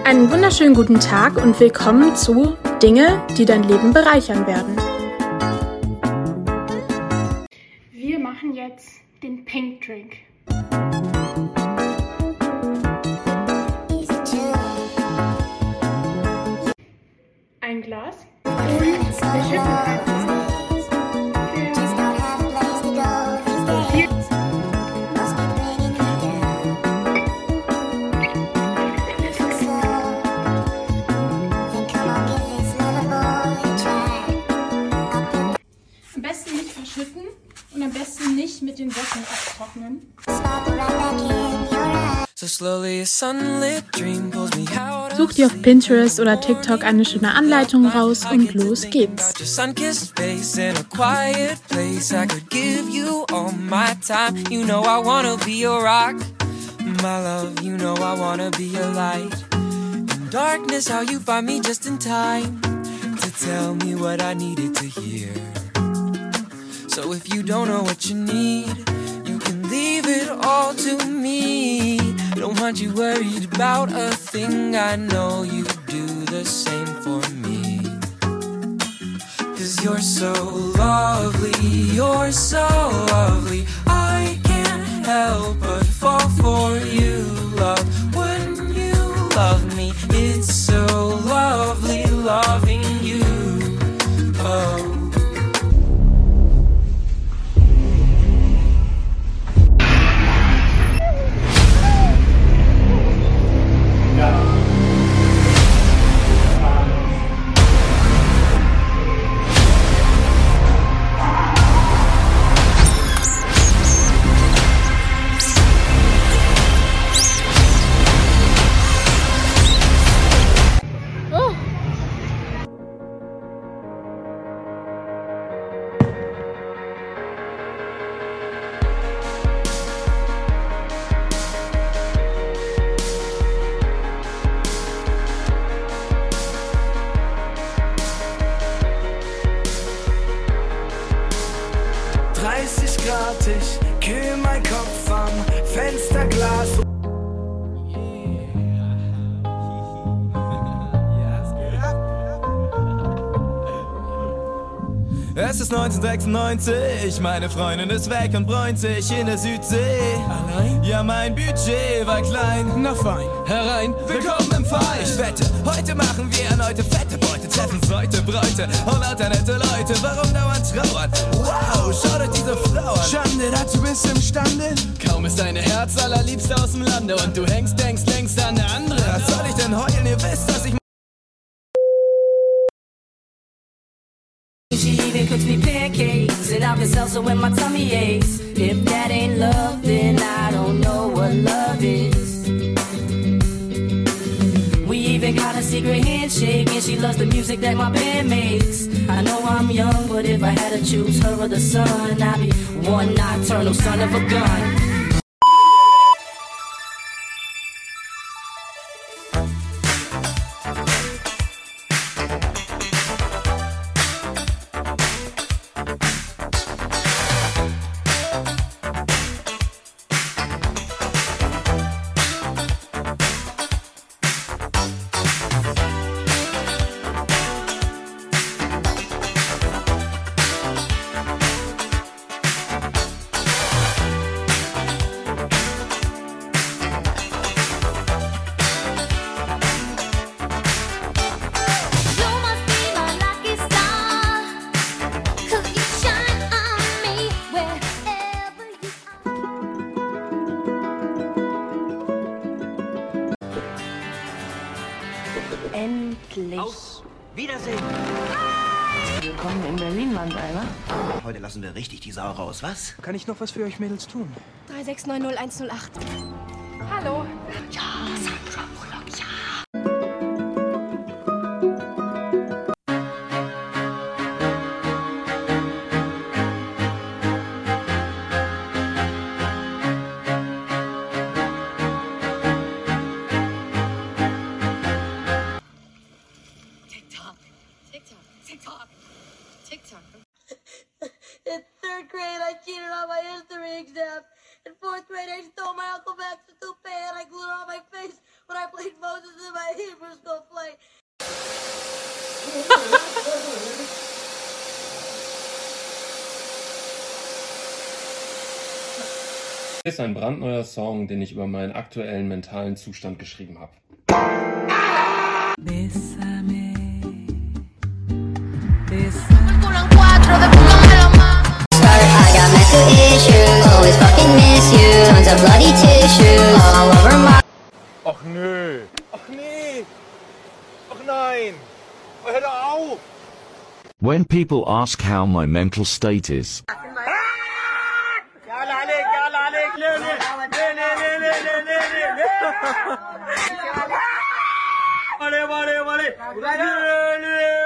Einen wunderschönen guten Tag und willkommen zu Dinge, die dein Leben bereichern werden. Wir machen jetzt den Pink Drink. Ein Glas und wir schütten einfach. Am besten nicht verschütten und am besten nicht mit den Socken abtrocknen. Such dir auf Pinterest oder TikTok eine schöne Anleitung raus und los geht's. Darkness, how you find me just in time to tell me what I needed to hear. So if you don't know what you need, you can leave it all to me. Don't want you worried about a thing, I know you do the same for me. 'Cause you're so lovely, I can't help but fall for you, love. When you love me, it's so lovely loving you. Oh. Ich kühl mein Kopf am Fensterglas. Es ist 1996, meine Freundin ist weg und bräunt sich in der Südsee. Allein? Ja, mein Budget war klein. Na fein, herein, willkommen im Fall. Ich wette, heute machen wir erneute fette Beute. Treffen Leute, Bräute und lauter nette Leute. Warum dauernd trauern? Wow, schau dir diese Frau an. Schande, dazu bist du imstande. Kaum ist deine Herz allerliebste aus dem Lande und du denkst längst an eine andere. Was soll ich denn heulen? Ihr wisst, dass ich... She even cooks me pancakes and Alka-Seltzer when my tummy aches. If that ain't love, then I don't know what love is. We even got a secret handshake and she loves the music that my band makes. I know I'm young, but if I had to choose her or the sun, I'd be one nocturnal son of a gun. Endlich. Auf Wiedersehen. Willkommen in Berlin, Mannheimer. Heute lassen wir richtig die Sau raus, was? Kann ich noch was für euch Mädels tun? 3690108. Hallo. Ja, Sandra Bullock, ja. TikTok. In third grade, I cheated on my history exam. In fourth grade, I stole my Uncle Max's toupee and I glued it on my face when I played Moses in my Hebrew school play. Ist ein brandneuer Song, den ich über meinen aktuellen mentalen Zustand geschrieben habe. Ach nö. Ach nee. Ach nein. Hör doch auf. When people ask how my mental state is, Vale.